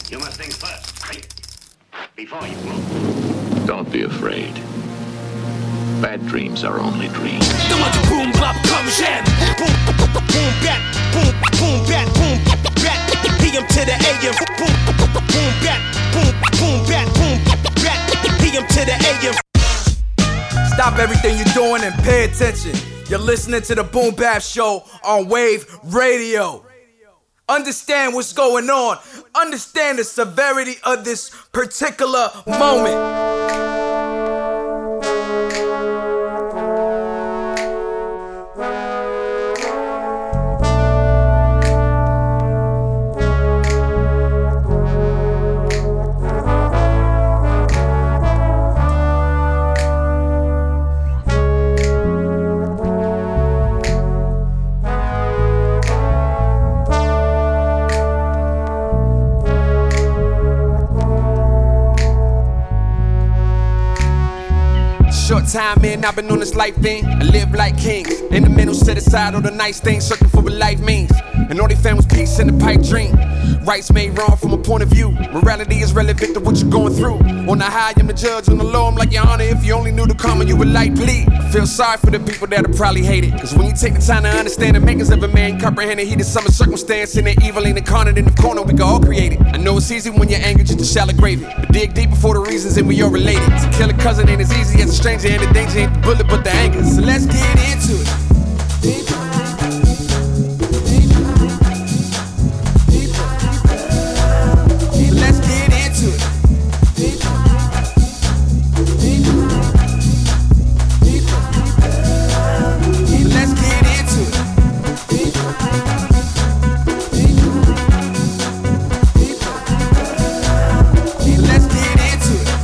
You must think first, right? Before you move. Don't be afraid. Bad dreams are only dreams. Boom bap comme j'aime. Boom bat, boom bat, boom bat. PM to the AM. Boom bat, boom bat, boom bat. PM to the AM. Stop everything you're doing and pay attention. You're listening to the Boom Bap Show on Wave Radio. Understand what's going on. Understand the severity of this particular moment. Short time in, I've been on this life thing. I live like kings. In the middle, set aside all the nice things, searching for what life means. And all they found was peace in the pipe dream. Rights made wrong from a point of view. Morality is relevant to what you're going through. On the high, I'm the judge. On the low, I'm like your honor. If you only knew the karma, you would like bleed. I feel sorry for the people that'll probably hate it. Cause when you take the time to understand the makings of a man, comprehend the heat of summer circumstance, and the evil ain't incarnate in the corner, we can all create it. I know it's easy when you're angry just to shallow gravy, but dig deeper for the reasons and we all related. To kill a cousin ain't as easy as a stranger, and the danger ain't the bullet but the anger. So let's get into it. Let's get into it. Let's get into it. Let's get into it.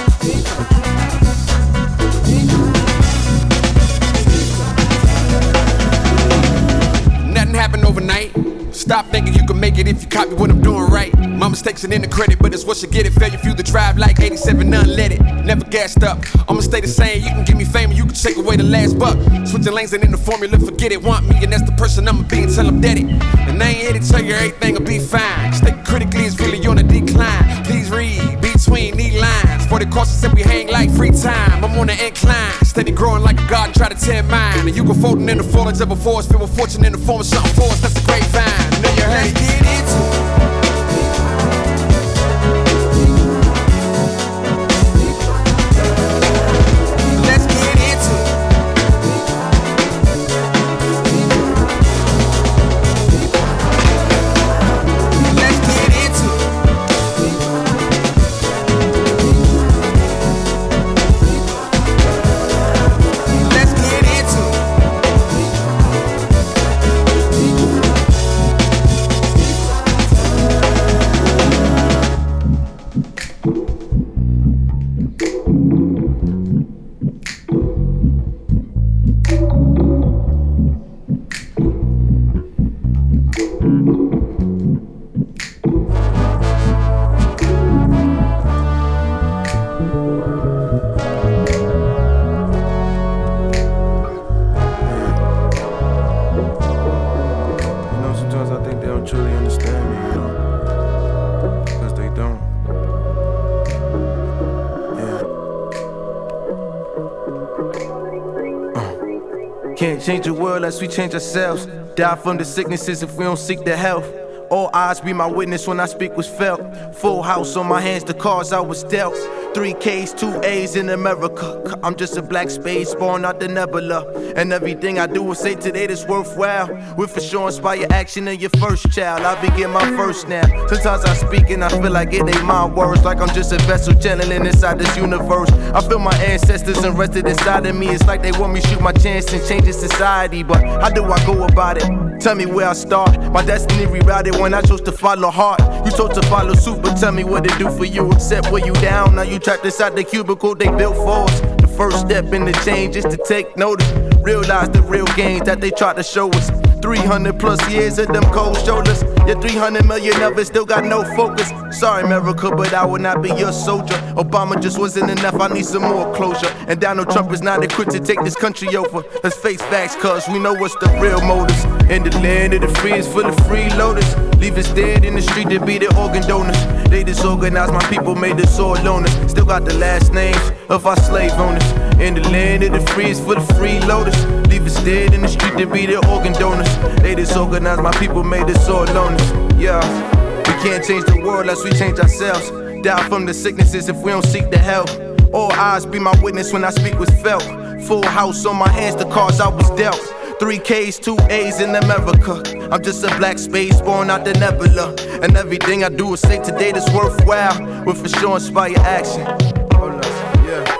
Nothing happened overnight. Stop thinking you can make it if you copy what I'm doing right. My mistakes ain't in the credit, but it's what you get it. Failure fuel the drive like 87, none let it. Never gassed up, I'ma stay the same. You can give me fame and you can take away the last buck. Switching lanes ain't in the formula, forget it. Want me and that's the person I'ma be until I'm dead it. And I ain't here to tell you everything will be fine. Stay critically is really on a decline. Please read between these lines. For the courses and we hang like free time. I'm on the incline, steady growing like a garden, try to tear mine. And you go folding in the foliage of a forest, filled with fortune in the form of something for us, that's a great vine. Know you heard it. Let's get into it. Let's get into it. Let's get into it. Let's get into it. You know, sometimes I think they don't truly understand me, you know? Because they don't. Yeah. Can't change the world unless we change ourselves. Die from the sicknesses if we don't seek the health. All eyes be my witness when I speak was felt. Full house on my hands, the cards I was dealt. 3 Ks, 2 A's in America. I'm just a black space born out the nebula. And everything I do is say today that's worthwhile. Will for sure inspire action in your first child. I begin my first now. Sometimes I speak and I feel like it ain't my words. Like I'm just a vessel channeling inside this universe. I feel my ancestors invested inside of me. It's like they want me to shoot my chance and change the society. But how do I go about it? Tell me where I start. My destiny rerouted when I chose to follow heart. You chose to follow suit, but tell me what it do for you. Except where you down, now you trapped inside the cubicle they built for us. The first step in the change is to take notice. Realize the real gains that they tried to show us. 300 plus years of them cold shoulders. Your 300 million of it still got no focus. Sorry, America, but I will not be your soldier. Obama just wasn't enough, I need some more closure. And Donald Trump is not equipped to take this country over. Let's face facts, cause we know what's the real motives. In the land of the free is full of freeloaders. Leave us dead in the street to be the organ donors. They disorganized my people, made us all loners. Still got the last names of our slave owners. In the land of the free is full of freeloaders. Leave us dead in the street to be the organ donors. They disorganized my people, made us all loners. Yeah, we can't change the world unless we change ourselves. Die from the sicknesses if we don't seek the help. All eyes be my witness when I speak was felt. Full house on my hands, the cards I was dealt. 3 Ks, 2 A's in America. I'm just a black space born out the nebula. And everything I do is say today that's worthwhile. Will for sure inspire action. Hold up, yeah.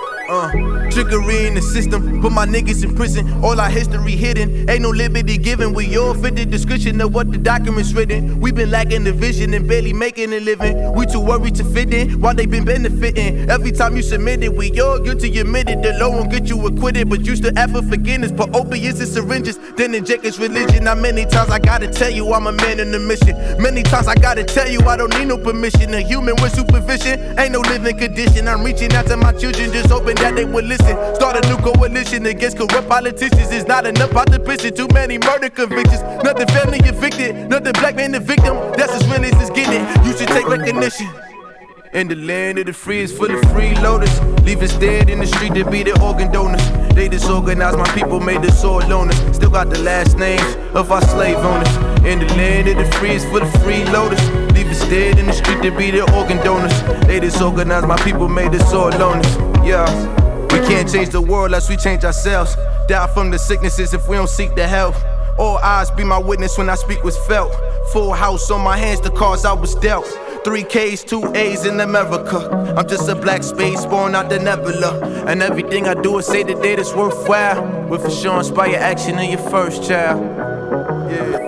Trickery in the system, put my niggas in prison. All our history hidden, ain't no liberty given. We all fit the description of what the document's written. We been lacking the vision and barely making a living. We too worried to fit in, while they been benefiting. Every time you submit it, we all guilty admitted. The law won't get you acquitted, but you still ask for forgiveness. Put opiates in syringes, then inject its religion. Now many times I gotta tell you I'm a man on a mission. Many times I gotta tell you I don't need no permission. A human with supervision, ain't no living condition. I'm reaching out to my children, just hoping that they would listen. Start a new coalition against corrupt politicians. It's not enough out the prison, too many murder convictions. Nothing family evicted, nothing black man the victim. That's as real as it's getting. You should take recognition. In the land of the free is full of freeloaders. Leave us dead in the street to be the organ donors. They disorganized my people, made us all loners. Still got the last names of our slave owners. In the land of the free is full of freeloaders. Leave us dead in the street to be the organ donors. They disorganized my people, made us all loners. Yeah, we can't change the world unless we change ourselves. Die from the sicknesses if we don't seek the help. All eyes be my witness when I speak was felt. Full house on my hands, the cards I was dealt. 3 Ks, 2 A's in America. I'm just a black space born out the nebula. And everything I do is say today that's worthwhile. Will for sure inspire action in your first child. Yeah.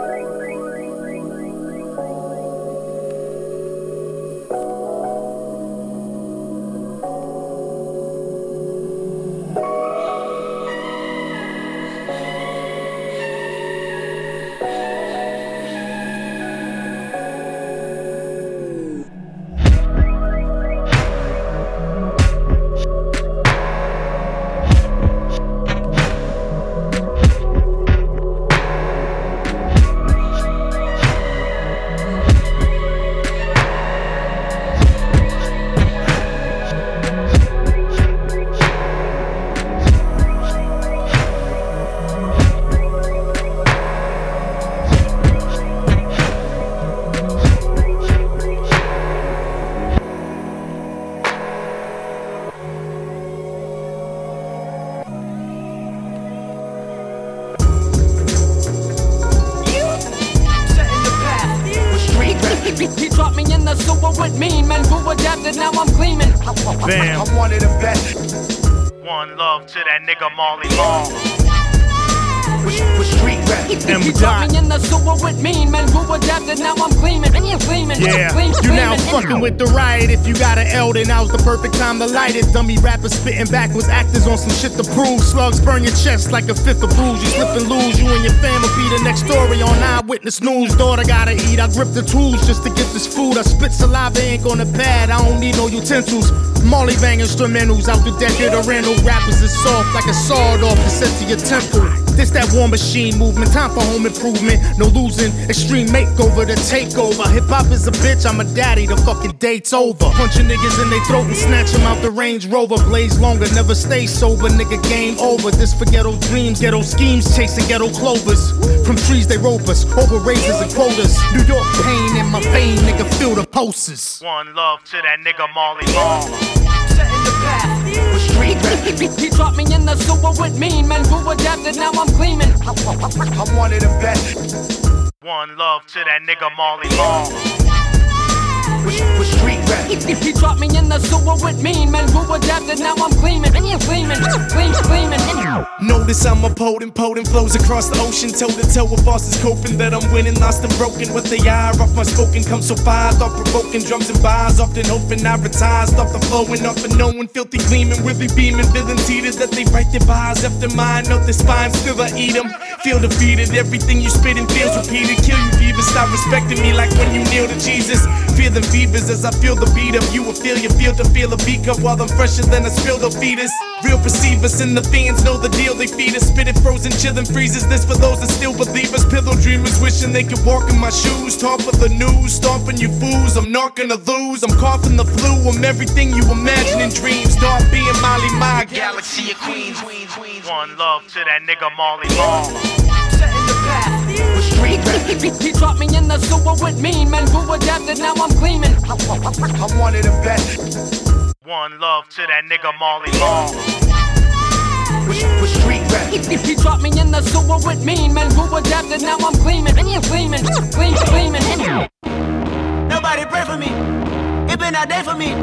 He dropped me in the sewer with mean men who adapted, now I'm gleaming. Bam. I'm one of the best. One love to that nigga Marley Marl. With street rap. He dropped me in the sewer with mean men who adapted, now I'm gleaming. Yeah, you now fucking with the riot. If you got an L, then now's the perfect time to light it. Dummy rappers spitting backwards, actors on some shit to prove. Slugs burn your chest like a fifth of booze. You slip and lose, you and your fam will be the next story on Eyewitness News. Daughter gotta eat, I grip the tools just to get this food. I spit saliva, ain't gonna pad, I don't need no utensils. Marley bang instrumentals out the decade of rental. Rappers is soft like a sawed off to set to your temple. This that war machine movement, time for home improvement. No losing, extreme makeover, the takeover. Hip hop is a bitch, I'm a daddy, the fucking date's over. Punching niggas in they throat and snatch them out the Range Rover. Blaze longer, never stay sober, nigga, game over. This for ghetto dreams, ghetto schemes, chasing ghetto clovers. From trees they rope us, over razors and quotas. New York pain in my vein, nigga, feel the pulses. One love to that nigga Marley Marl. Setting the path with street rap. He dropped me in the sewer with mean men who adapted, now I'm gleaming. I'm one of the best. One love to that nigga Marley Marl. with street rap. He dropped me in the sewer with mean men who adapted. Now I'm gleaming. Notice I'm a potent flows across the ocean, toe to toe with bosses coping that I'm winning, lost and broken. What they are off my spoken, come so far, thought provoking drums and bars, often hoping I retire, stop the flowing, off the knowing, filthy gleaming, really beaming, villains heated that they write their bars after mine, up their spine, still I eat them. Feel defeated, everything you spit and feels repeated. Kill you divas, stop respecting me like when you kneel to Jesus. Feeling fevers as I feel the beat of you. Will feel you feel to feel a beat cup while I'm fresher than a spilled fetus. Real perceivers and the fans know the deal they feed us. Spit it frozen, chillin' freezes. This for those that still believe us. Pillow dreamers wishing they could walk in my shoes. Talk for the news, stomping you fools. I'm not gonna lose. I'm coughing the flu. I'm everything you imagine in dreams. Start being Molly, my galaxy of queens. One love to that nigga Marley Marl. Setting the path with street rap. He dropped me in the sewer with mean men who adapted. Now I'm gleaming. I'm one of the best. One love to that nigga Marley Marl. With street rap. He dropped me in the sewer with mean men who adapted. Now I'm gleaming. Nobody pray for me. It been a day for me.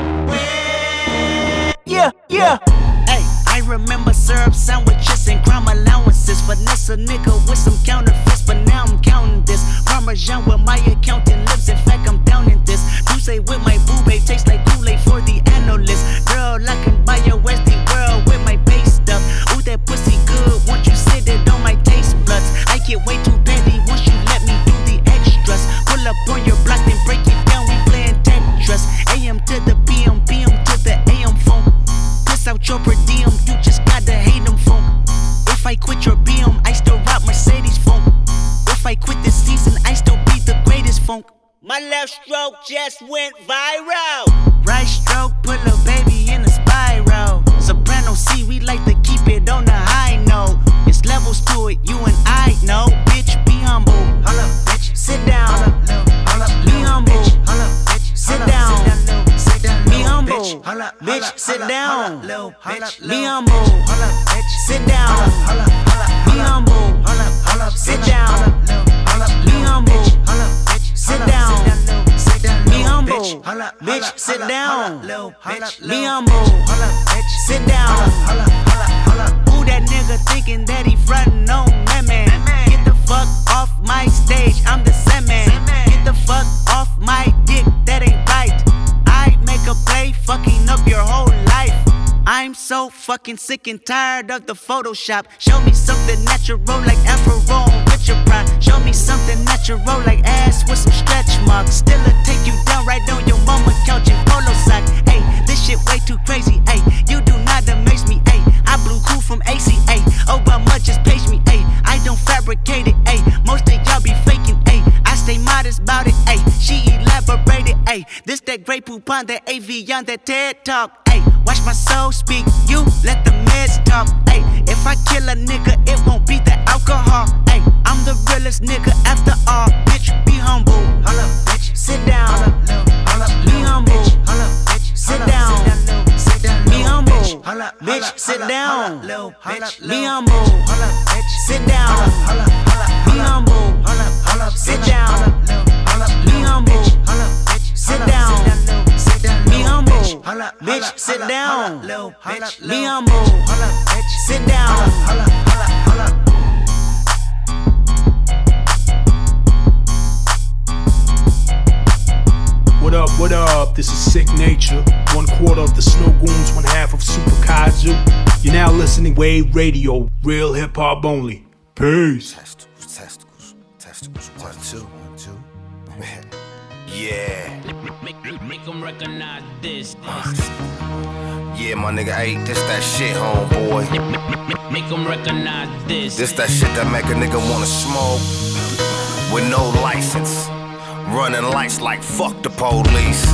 Yeah. Hey, I remember syrup sandwiches and crime allowances. Finesse a nigga with some counterfeits, but now I'm counting this. Parmesan where my accountant lives. In fact, I'm down in this. You say with my boo babe tastes like Kool-Aid for the analyst. Girl, I can buy your Westie world with my base stuff. Ooh, that pussy good. Once you sit it on my taste buds. I get way too petty once you let me do the extras. Pull up on your block and break it down. We playing Tetris. AM to the PM, PM to the AM phone. Piss out your per diem, you just gotta hate them funk. If I quit your BM, I still rock Mercedes funk. If I quit this season, I still be the greatest funk. My left stroke just went viral. Right stroke put a baby in a spiral. Soprano C, we like to keep it on the high note. It's levels to it, you and I know. Bitch, be humble. Holla, bitch. Sit down. Holla, be humble. Holla, bitch. Sit down. Be humble. Bitch, sit down. Be humble. Sit down. Be humble. Sit down. Be humble. Sit down. Be humble. Bitch, sit down. Be humble. Sit down. Who that nigga thinking that he frontin' on man? Get the fuck off my stage, I'm the Sandman. Get the fuck off my dick, that ain't right. I make a play, fucking up your whole life. I'm so fucking sick and tired of the Photoshop. Show me something natural like Afro with your pride. Show me something natural like ass with some stretch marks. Still take you down right on your mama couch in polo socks. Ayy, this shit way too crazy. Ayy, you do not amaze me. Ayy, I blew cool from ACA. Obama just page me. Ayy, I don't fabricate it. Ayy, most of y'all be faking. Ayy, I stay modest about it. Ayy, she elaborated. Ayy, this that Grey Poupon, that AV on that TED Talk. Ayy, watch my soul speak. You let the meds talk. Ayy, if I kill a nigga, it won't be the alcohol. Ayy, I'm the realest nigga after all. Bitch, be humble. Holla, bitch. Sit down. Be humble. Sit down. Be humble. Bitch, sit down. Be humble. Sit down. Be humble. Sit down. Be humble. Sit down. Be humble. Bitch, sit down. Be humble. Sit down. What up? This is Sick Nature. 1/4 of the Snow Goons, 1/2 of Super Kaiju. You're now listening Wave Radio, real hip hop only. Peace. Testicles. 1, 2. Yeah. Make them recognize this. Yeah, my nigga, hey, this that shit, homeboy. Make them recognize this. This that shit that make a nigga wanna smoke with no license. Running lights like fuck the police.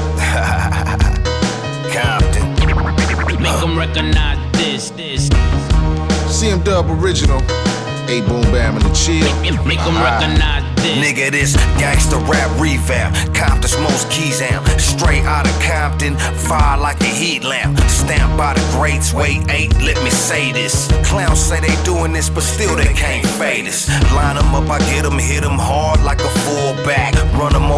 Compton. Make them recognize this. CM Dub original. A Boom Bam and the Chill. Make them recognize this. Nigga, this gangsta rap revamp. Compton's most keys amp. Straight out of Compton, fire like a heat lamp. Stamped by the greats, weight 8, let me say this. Clowns say they doing this, but still they can't fade us. Line them up, I get them, hit them hard like a fullback. Run them over, run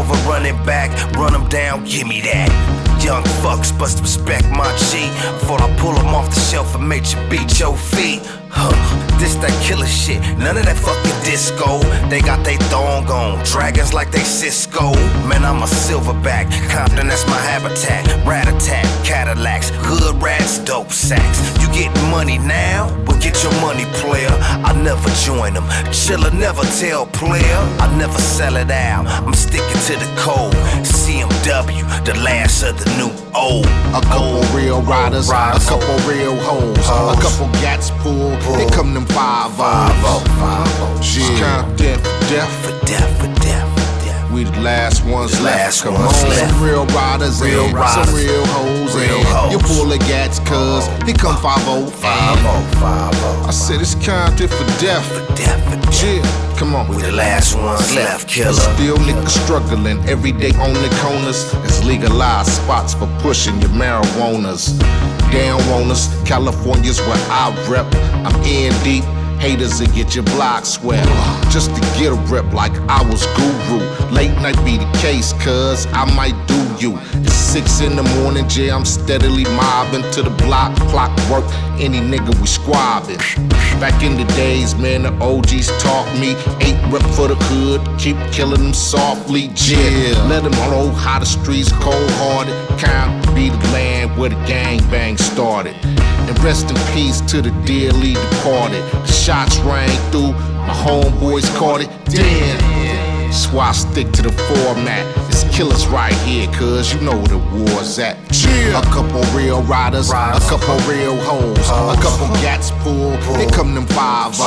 it back, run them down, give me that. Young fucks bust respect my G. Before I pull them off the shelf and make you beat your feet. This that killer shit, none of that fucking disco. They got they thong on, dragons like they Cisco. Man, I'm a silverback, Compton, that's my habitat. Rat-a-tat, Cadillacs, hood rats, dope sacks. You getting money now? Well, get your money, player. I never join them, chiller, never tell player. I never sell it out, I'm sticking to the code. CMW, the last of the new old. A couple real riders, a couple real hoes, a couple gats pulled. Here come them 5-0. Compton for death. We the last ones left. Come on, some real riders, some real hoes. You pull the gats, cuz here come 5-0. I said it's Compton for death. Yeah, come on. We the last ones left, killer. Still niggas struggling every day on the corners. It's legalized spots for pushing your marijuanas. Down on us, California's where I rep. I'm in deep. Haters will get your block swept. Just to get a rep like I was guru. Late night be the case, cuz I might do you. It's 6 in the morning, yeah, I'm steadily mobbing to the block, clockwork, any nigga we squabbing. Back in the days, man, the OGs taught me 8 rep for the hood, keep killing them softly, yeah. Let them know how the streets cold-hearted. Can't be the land where the gangbang started. And rest in peace to the dearly departed. The shots rang through, my homeboys caught it. Damn. That's why I stick to the format. It's killers right here, cuz you know where the war's at. A couple real riders, a couple real hoes, a couple gats pulled. Here come them 5-0.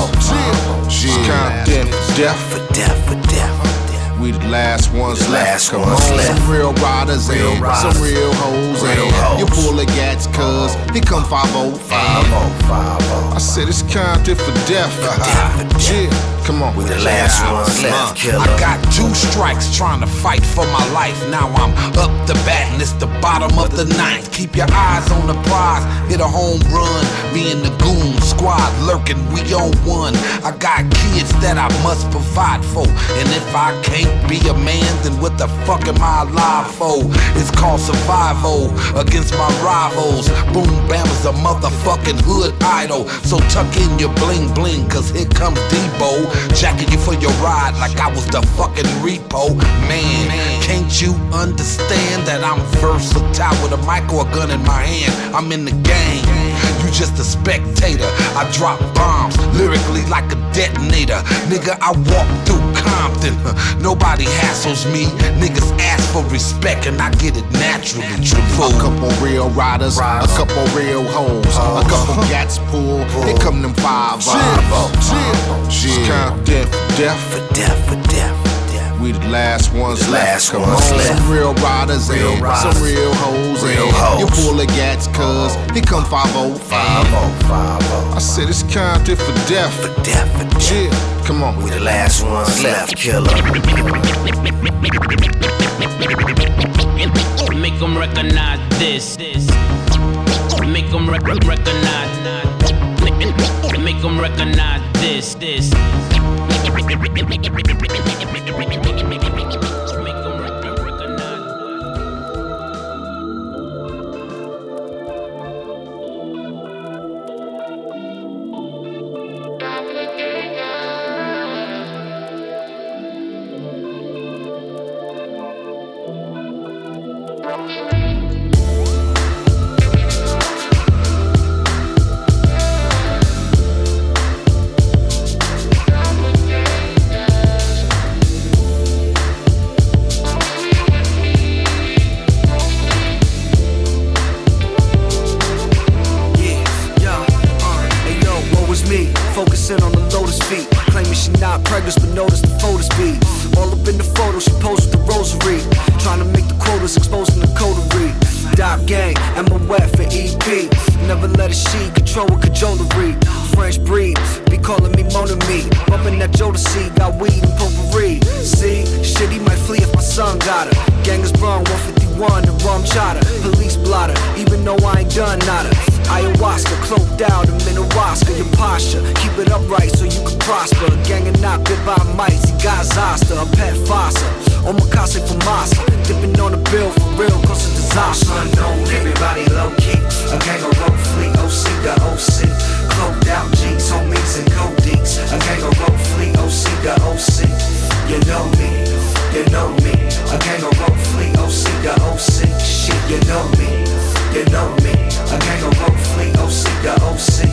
Compton for death. We the last ones left. Come on, some real riders, some real hoes. You pull the gats, cuz here come 5-0. I said it's Compton for death. Yeah, come on. We the last ones left, killer. I got 2 strikes trying to fight for my life. Now I'm up the bat and it's the bottom of the 9th. Keep your eyes on the prize, hit a home run. Me and the goon squad lurking, we on one. I got kids that I must provide for, and if I can't be a man, then what the fuck am I alive for? It's called survival against my rivals. Boom Bam is a motherfucking hood idol. So tuck in your bling bling, cause here comes Debo, jacking you for your ride like I was the fucking repo. Man, can't you understand that I'm versatile with a mic or a gun in my hand? I'm in the game, you just a spectator. I drop bombs lyrically like a detonator. Nigga, I walk through Compton, nobody hassles me. Niggas ask for respect and I get it naturally. A couple real riders, a couple real hoes, a couple gats pulled. Here come them 5-0. Compton for death. We the last ones left. Come on, some real riders, some real hoes. You pull the gats, cuz here come 5-0. I said it's Compton for death. Yeah, come on. We the last ones left, killer. Make them recognize this. Make them recognize. Make them recognize this. Focusing on the lotus feet, claiming she not pregnant, but notice the photo speed. All up in the photo, she posed with the rosary, trying to make the quotas, exposing the coterie. Dop gang, Emma Wet for EP. Never let a she control with cajolery. French breed, be calling me Mon Ami. Bumping that Jodeci, got weed and potpourri. See, shit, he might flee if my son got her. Gang is brung, 151 and rum chata. Police blotter, even though I ain't done nada. Ayahuasca, cloaked out, I'm in a Oscar. Your posture, keep it upright so you can prosper. Gang and not bit by mice, he got Zoster, a pet fossa. Omakase for Masa, dipping on the bill for real, cause it's disaster. Unknown, everybody low key. A gang of road fleet, OC to OC. Cloaked out G's, homies and gold D's. A gang of road fleet, OC to OC. You know me, you know me. A gang of road fleet, OC to OC. Shit, you know me, you know me. A gang of road fleet, OC to OC.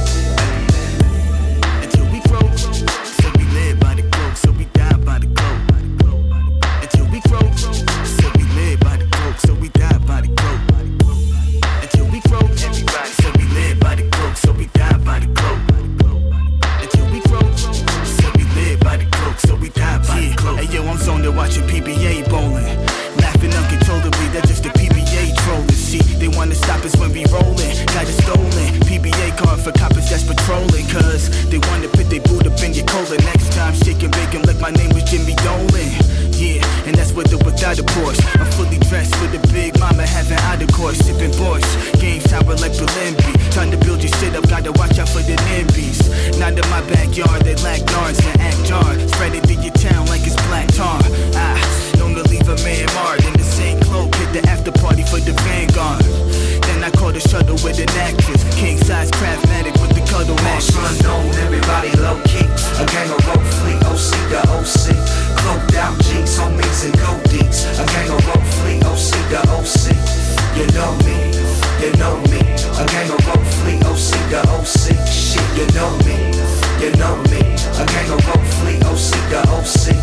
Until we grow, so we live by the cloak, so we die by the cloak. Until we grow, so we live by the cloak, so we die by the cloak. Until we grow, everybody, so we live by the cloak, so we die by the cloak. Until we grow, so we live by the cloak, so we die by the cloak. Hey yo, I'm zoned there watching PBA bowling, laughing uncontrollably. That's just the PBA trolling. See, they wanna stop us when we rollin', got it stolen. PBA card for coppers that's patrolling, cause they wanna put their boot up in your cola. Next time, shake and bake 'em like my name was Jimmy Dolan. Yeah, and that's with or without a Porsche. I'm fully dressed with a big mama having out of course, sipping Borscht. Game tower like Berlinby, trying to build your shit up, gotta watch out for the NIMBYs. Not in my backyard, they lack yards and act jar. Spread it through your town like it's black tar. Known to leave a man marred in the same cloak, hit the after party for the Vanguard. Then I caught a shuttle with an actress, king size craftmatic with the cuddle mattress. Unknown, everybody low key. A gang of road fleet, OC to OC. Cloaked out G's, homies and gold D's. A gang of road fleet, OC to OC. You know me, you know me. A gang of road fleet, OC to OC. Shit, you know me, you know me. A gang of road fleet, OC to OC.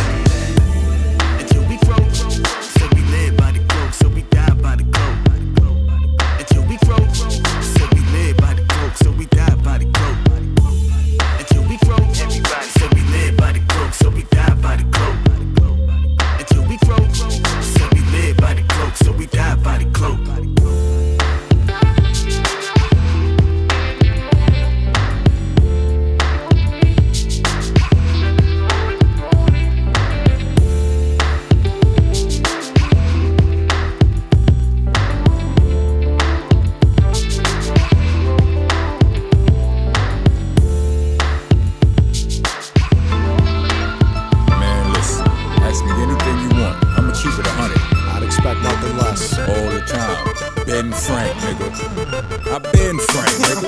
Until we grow, so we live by the cloak, so we die by the cloak. Until we grow, so we live by the cloak, so we die by the cloak. Until we grow, everybody, so we live by the cloak, so we die by the cloak. Until we grow, so we live by the cloak, so we die by the cloak. Ben Frank, nigga. I been Frank, nigga.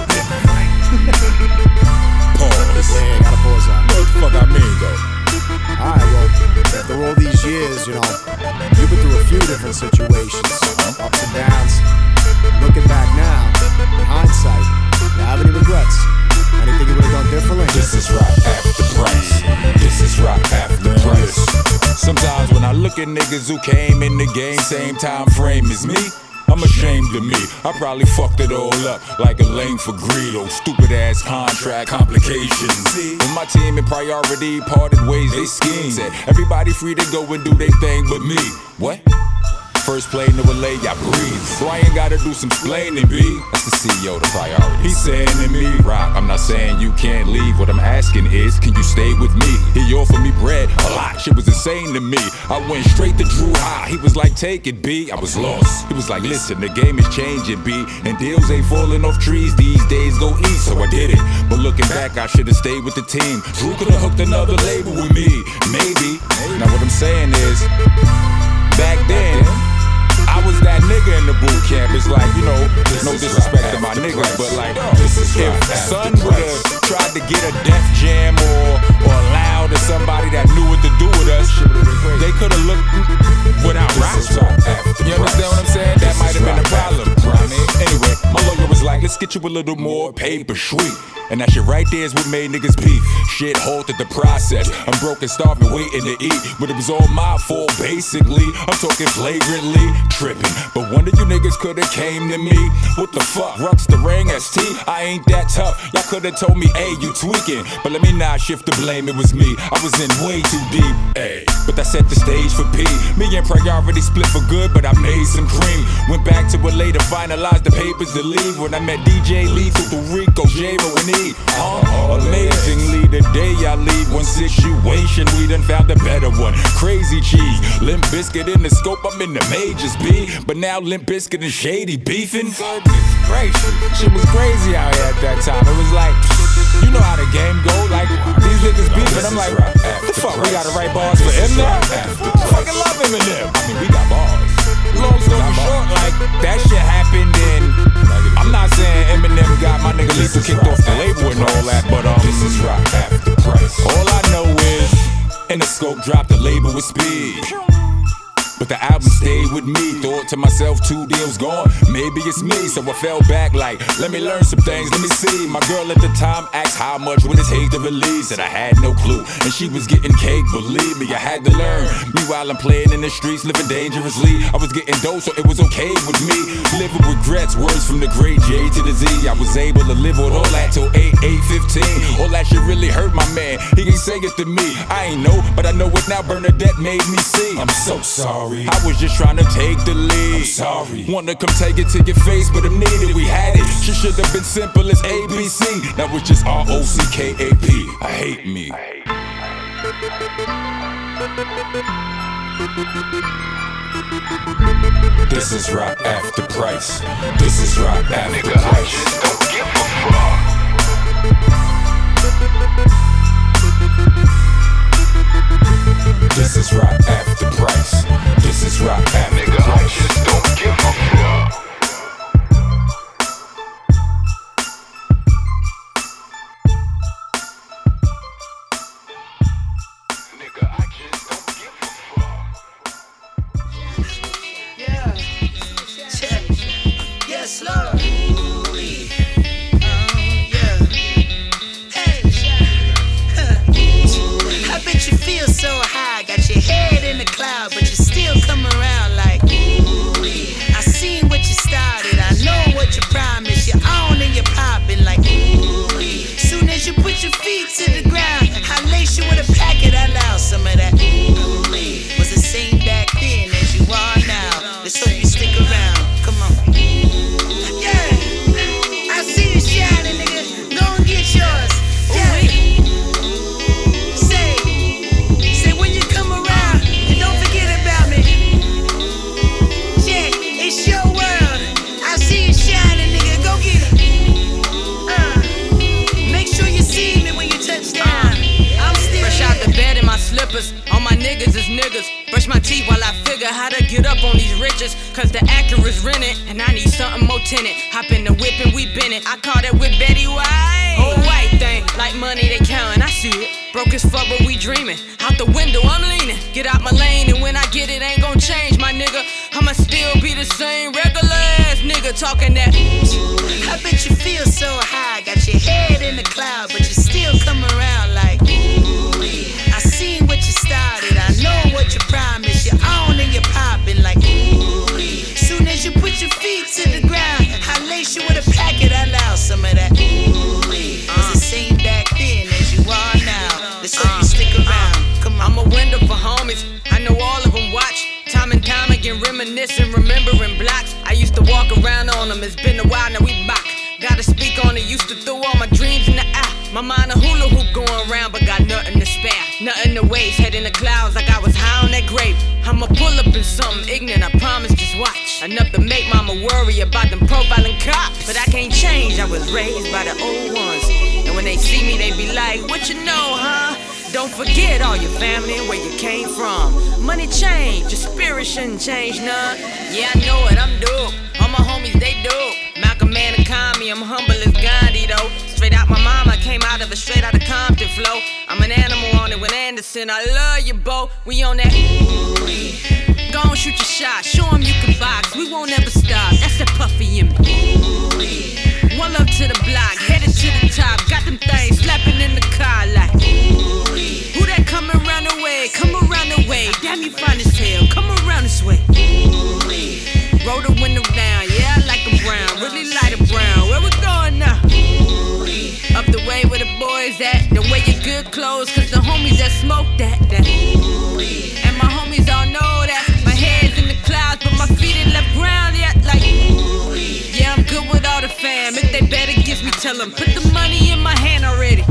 Pause. Yeah, gotta pause that. What the fuck I mean, though? Alright, well, after all these years, you know, you've been through a few different situations, ups and downs. Looking back now, in hindsight, you have any regrets? Anything you would have done differently? This is right after price. This is right after price. Sometimes when I look at niggas who came in the game, same time frame as me, I'm ashamed of me. I probably fucked it all up like a lame for greed or stupid ass contract complications. When my team in priority parted ways, they schemed. Said everybody free to go and do their thing but me. What? First plane to LA, I breathe. So I ain't gotta do some explaining, B. That's the CEO, the priority. He's saying to me, Rock, I'm not saying you can't leave. What I'm asking is, can you stay with me? He offered me bread, a lot. Shit was insane to me. I went straight to Drew High. He was like, take it, B. I was lost. He was like, listen, the game is changing, B. And deals ain't falling off trees these days. Go eat, so I did it. But looking back, I should've stayed with the team. Drew could've hooked another label with me. Maybe. Now what I'm saying is, back then, I was that nigga in the boot camp. It's like, you know, no disrespect to my niggas, but like, if son would've tried to get a Def Jam or allowed to somebody that knew what to do with us, they could've looked without raps. You understand what I'm saying? That might have been a problem. I mean, anyway, my lawyer was like, let's get you a little more paper sweet. And that shit right there is what made niggas beef. Shit halted the process. I'm broke and starving, waiting to eat. But it was all my fault, basically. I'm talking flagrantly tripping. But one of you niggas could've came to me. What the fuck? Rux the ring ST? I ain't that tough. Y'all could've told me, hey, you tweaking. But let me not shift the blame, it was me. I was in way too deep. Ay, but that set the stage for P. Me and Priority split for good, but I made some cream. Went back to LA to finalize the papers to leave. When I met DJ Lethal, Rico, J-Ro, and E. Amazingly, the day I leave one situation, we done found a better one. Crazy cheese, Limp Bizkit in the scope, I'm in the majors, B. But now Limp Bizkit and Shady beefing. Goodness gracious, shit was crazy out here at that time. It was like, you know how the game go, like these niggas beefing. I'm like, what the fuck, we gotta write bars for him now? Fucking love broke, dropped the label with speed. But the album stayed with me. Thought to myself, 2 deals gone, maybe it's me. So I fell back like, let me learn some things, let me see. My girl at the time asked how much would it take to release, and I had no clue. And she was getting cake, believe me, I had to learn. Meanwhile, I'm playing in the streets, living dangerously. I was getting dope, so it was okay with me. Living regrets, words from the great J to the Z. I was able to live with all that till 8/15. All that shit really hurt my man. He ain't say it to me. I ain't know, but I know it now. Bernadette made me see. I'm so sorry. I was just trying to take the lead. I'm sorry. Wanna come take it to your face, but I'm needed. We had it. Shit should have been simple as ABC. Now it's just ROCKAP. I hate me. This is rap after Price. This is rap after Price. I just don't give a fuck. This is rap after Price. This is rap after Price. I just don't give a fuck. Yes, Lord. I bet you feel so high, got your head in the cloud, but you still come around like, I seen what you started, I know what you promised, you're on and you're popping like, soon as you put your feet to the ground, I lace you with a packet, I allow some of that, was the same back then as you are now, let's hope you stick around, come on. Yeah, I see you shining, nigga, go and get yours, yeah. Say when you come around, and don't forget about me. Yeah, it's your world. I see you shining, nigga. Go get it. Make sure you see me when you touch down. I'm still fresh out the bed in my slippers. All my niggas is niggas. Brush my teeth while I figure how to get up on these riches. Cause the Acura's rented, and I need something more tinted. Hop in the whip and we been it. I call that whip Betty White. Old white thing, like money they countin', I see it. Broke as fuck, but we dreamin'. Out the window, I'm leaning. Get out my lane, and when I get it, ain't gon' change, my nigga. I'ma still be the same regular ass nigga talking that. I bet you feel so high, got your head in the cloud, but you still come around like, I seen what you started, I know what you promised, you're on and you're popping like, soon as you put your feet to the ground, I lace you with a packet, I allow some of that. Was the same back then as you are now. Let's hope you stick around. Come on. I'm a window for homies. I know all of them watch. Time and time again, reminiscing, remembering blocks. I used to walk around on them. It's been a while, now we back. Gotta speak on it. Used to throw all my dreams in the air. My mind a hula hoop going around, but got nothing to spare. Nothing to waste. Head in the clouds like I was high on that grape. I'ma pull up in something ignorant, I promise, just watch. Enough to make mama worry about them profiling cops. But I can't change, I was raised by the old ones. And when they see me, they be like, what you know, huh? Don't forget all your family and where you came from. Money change, your spirit shouldn't change none. Yeah, I know it, I'm dope. All my homies, they dope. Malcolm Man and Kami, I'm humble as Gandhi though. Straight out my mama, came out of a straight out of Compton flow. I'm an animal on it with Anderson, I love you, Bo. We on that. Go on, shoot your shot, show 'em you can box. We won't ever stop, that's that puffy in me. One love to the block, headed to the top. Got them things slapping in the car like, who that coming around the way? Come around the way, damn you fine as hell. Come around this way. Roll the window down, yeah, I like 'em brown. Really light it brown, where we going now? Up the way where the boys at. The way your good clothes, cause the homies that smoke that. And my homies all know that. My head's in the clouds, but my feet ain't left ground yet. Like, yeah, I'm good with all the fam. If they better give me, tell them, put the money in my hand already.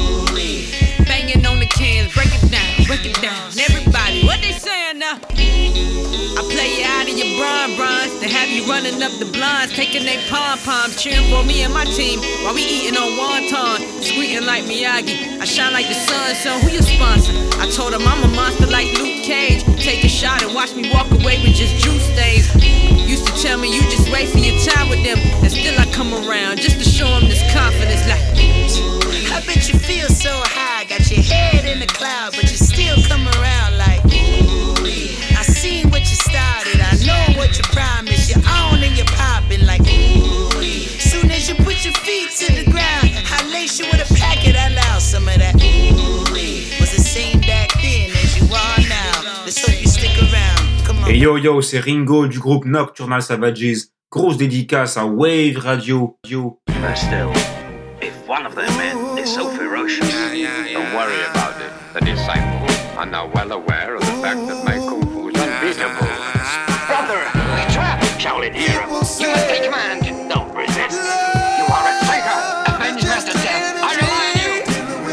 Banging on the cans, break it down. Everybody, what they saying now? I play you out of your bronze. They have you running up the blinds, taking they pom-poms, cheering for me and my team while we eating on wonton, squeaking like Miyagi. I shine like the sun, so who you sponsor? I told him I'm a monster like Luke Cage. Take a shot and watch me walk away with just juice stains. Used to tell me you just wasting your time with them, and still I come around just to show them this confidence like, I bet you feel so high, got your head in the cloud, but you still come around Et yo yo, c'est Ringo du groupe Nocturnal Savages. Grosse dédicace à Wave Radio. But still, if one of their men is so ferocious, don't worry about it. The disciples are now well aware of the fact that my kung fu is unbeatable. Brother, we trap, Shaolin hero. You must take command. Don't resist. You are a traitor. Avenge Master Death. I rely on you.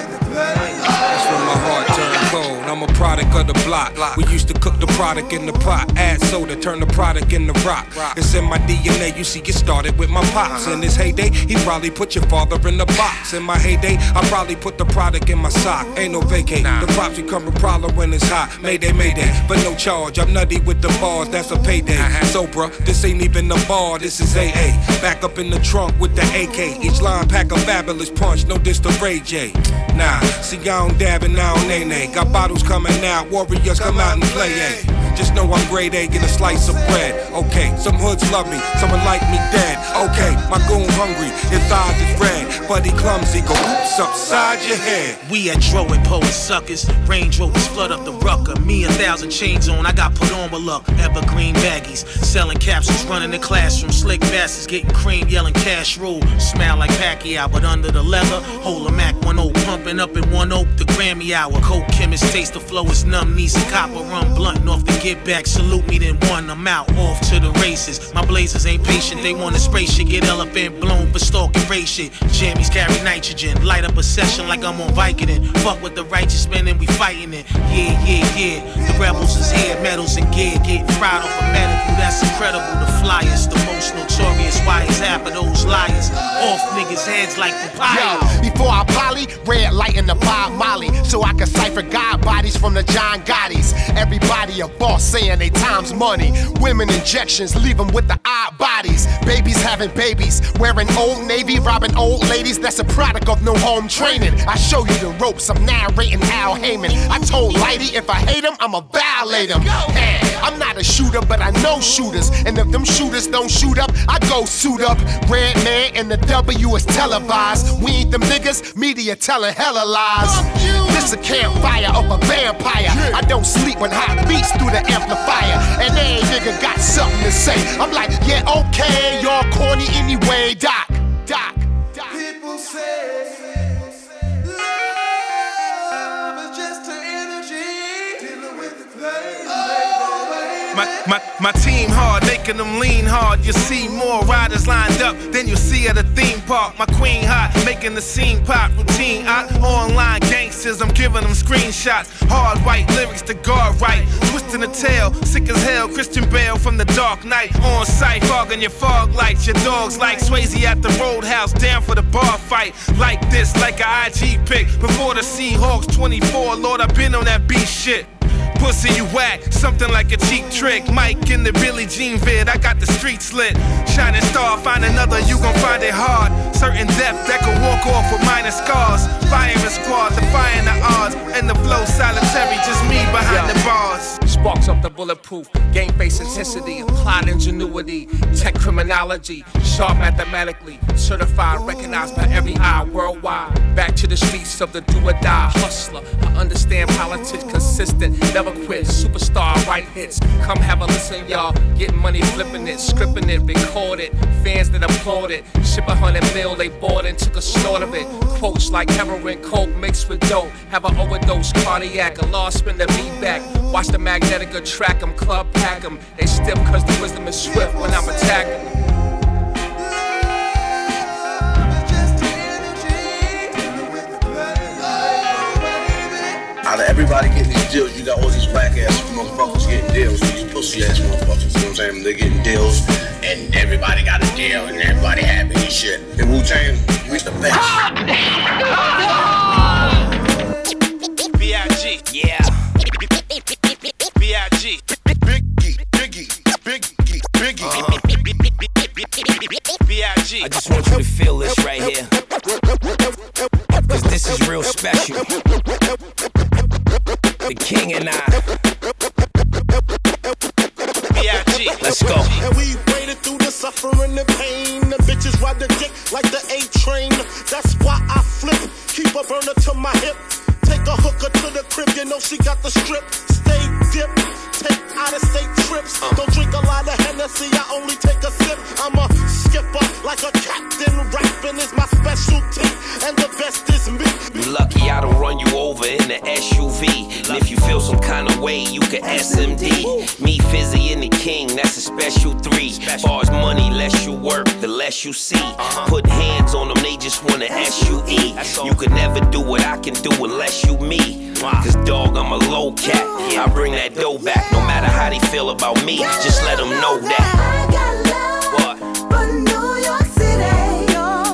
That's when my heart turned cold. I'm a product of the block. We used to cook the product in the pot, add soda, turn the product into rock. It's in my DNA, you see, it started with my pops. In his heyday, he probably put your father in the box. In my heyday, I probably put the product in my sock. Ain't no vacate, the props become a problem when it's hot. Mayday, mayday, but no charge. I'm nutty with the bars, that's a payday. So bruh, this ain't even a bar, this is AA. Back up in the trunk with the AK. Each line pack a fabulous punch, no diss to Ray J. Nah, see I don't dab and I don't nay-nay. Got bottles coming out, warriors come out and play, ayy. Just know I'm grade A, get a slice of bread. Okay, some hoods love me, someone like me dead. Okay, my goon hungry, his eyes is red. But he clumsy, go oops upside your head. We at Dro and Poet Suckers. Range Rovers flood up the rucker. Me 1,000 chains on, I got put on with luck. Evergreen baggies, selling capsules, running the classroom. Slick bastards getting cream, yelling cash rule. Smell like Pacquiao, but under the leather, hold a Mac 1-0, pumping up in 1 Oak, the Grammy hour. Coke chemist, taste the flow, it's numb knees and copper rum blunting off the get back. Salute me, then one, I'm out, off to the races. My blazers ain't patient, they want to spray shit, get elephant blown for stalking race shit. Jammies carry nitrogen, light up a session like I'm on Vicodin. Fuck with the righteous men and we fighting it. Yeah. The rebels is here, medals and gear, getting fried off a medical. That's incredible. The flyers, the most notorious. Why is half of those liars off niggas' heads like papaya? Yo, before I poly, red light in the Bob Molly, so I can cipher God bodies from the John Gottis. Everybody a boss saying they time's money. Women injections leave them with the odd bodies. Babies having babies, wearing Old Navy, robbing old ladies. That's a product of no home training. I show you the ropes, I'm narrating Al Heyman. I told Lighty if I hate him, I'ma violate him. I'm not a shooter, but I know shooters. And if them shooters don't shoot up, I go suit up. Red man and the W is televised. We ain't them niggas, media telling hella lies. This a campfire of a vampire. I don't sleep when hot beats through the amplifier. And every nigga got something to say. I'm like, yeah, okay, y'all corny anyway, Doc. People say love is just an energy dealing with the pain. My team hard, making them lean hard. You see more riders lined up than you see at a theme park. My queen hot, making the scene pop. Routine online gangsters, I'm giving them screenshots. Hard white lyrics to guard right. Twisting the tail, sick as hell. Christian Bale from the Dark Knight. On sight, fogging your fog lights. Your dogs like Swayze at the Roadhouse, down for the bar fight. Like this, like a IG pic. Before the Seahawks 24, Lord, I've been on that beat shit. Pussy, you whack, something like a cheap trick. Mike in the Billie Jean vid, I got the streets lit. Shining star, find another, you gon' find it hard. Certain depth that can walk off with minor scars. Firing squad, defying the odds. And the flow solitary, just me behind the bars. Sparks up the bulletproof, game face intensity, applied ingenuity, tech criminology, sharp mathematically, certified, recognized by every eye worldwide. Back to the streets of the do or die hustler. I understand politics, consistent, never quit, superstar, write hits. Come have a listen, y'all. Getting money, flipping it, scripting it, record it. Fans that applaud it. Ship 100 mil, they bought and took a snort of it. Quotes like heroin, coke mixed with dope. Have an overdose, cardiac, a lost spin the beat back. Watch the Magnetica track 'em, club pack 'em. They stiff cause the wisdom is swift when I'm attacking them. Out of everybody getting these deals, you got all these whack ass motherfuckers getting deals. These pussy ass motherfuckers, you know what I'm saying? They're getting deals, and everybody got a deal, and everybody happy and shit. In Wu-Tang, we the best. B.I.G. Yeah. B.I.G. B.I.G. I just want you to feel this right here, cause this is real special. The king and I. B.I.G. Let's go. And we waded through the suffering and pain. The bitches ride the dick like the A-train. That's why I flip, keep a burner to my hip. Take a hooker to the crib, you know she got the strip. Stay dip, take out-of-state trips. special 3. Far as money, less you work, the less you see. Put hands on them, they just wanna SUE. You could never do what I can do unless you me. Cause dog, I'm a low cat. I bring that dough back, no matter how they feel about me. Just let them know that. I got love for New York City.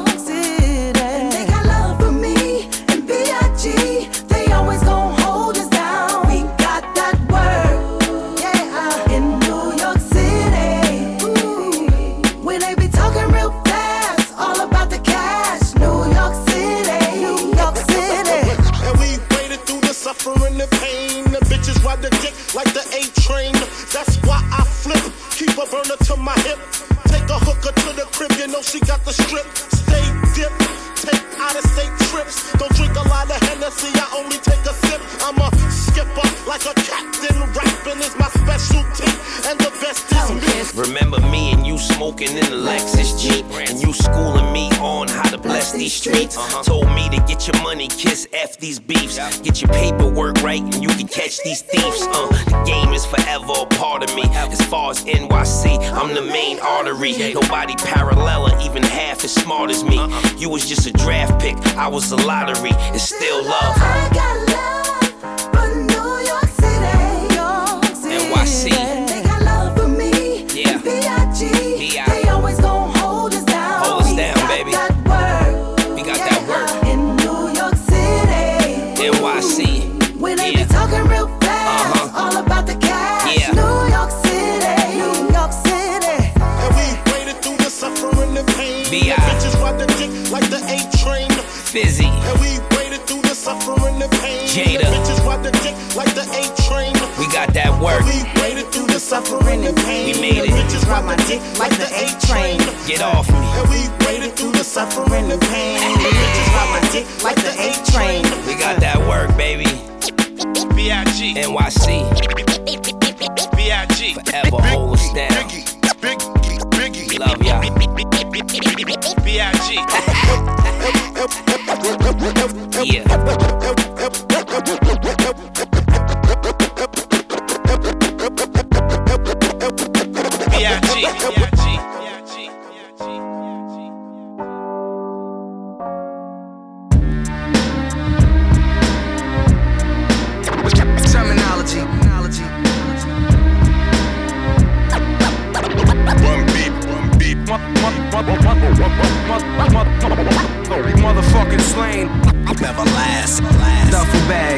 And they got love for me and B.I.G. They always gon' hold us down. We got that word, yeah, in New York City. When they be talking real fast, all about the cash. New York City, New York City. And we waded through the suffering and pain. The bitches ride the dick like the A train. That's why I flip. Keep a burner to my hip. Take a hooker to the crib, you know she got the strip. Stay dip, take out of state trips. Don't drink a lot of Hennessy, I only take a sip. I'm a skipper like a captain. Rapping is my specialty, and the best is me. Remember me and you smoking in the Lexus Jeep, and you schooling me on how to bless these streets. Told me to get your money, kiss F these beefs. Get your paperwork right and you can catch these thieves. The game is forever a part of me. As far as NYC, I'm the main artery. Nobody parallel or even half as smart as me. You was just a draft pick, I was a lottery. It's still love. I got love for New York City. NYC. They got love for me. Yeah. B.I.G. They always gon' hold us down. Hold us down, baby. We got that word in New York City. NYC. When they be talking real fast, all about the cash. Yeah. New York City, New York City. And we waded through the suffering and pain. B.I. Bitches ride the dick like the A train. Fizzy. And we waded through the suffering and pain. Jada. Bitches ride the dick like the A train. We got that work. We waded through the suffering and pain. We made it. Bitches ride my dick like the A train. Get off me. And we waded through the suffering and pain. Bitches ride my dick like the A train. We got that work, baby. B.I.G. NYC. B.I.G. Forever hold us down. Biggie. Love y'all. B.I.G. Yeah. Terminology. Motherfucking slain. Never last. Duffel bag.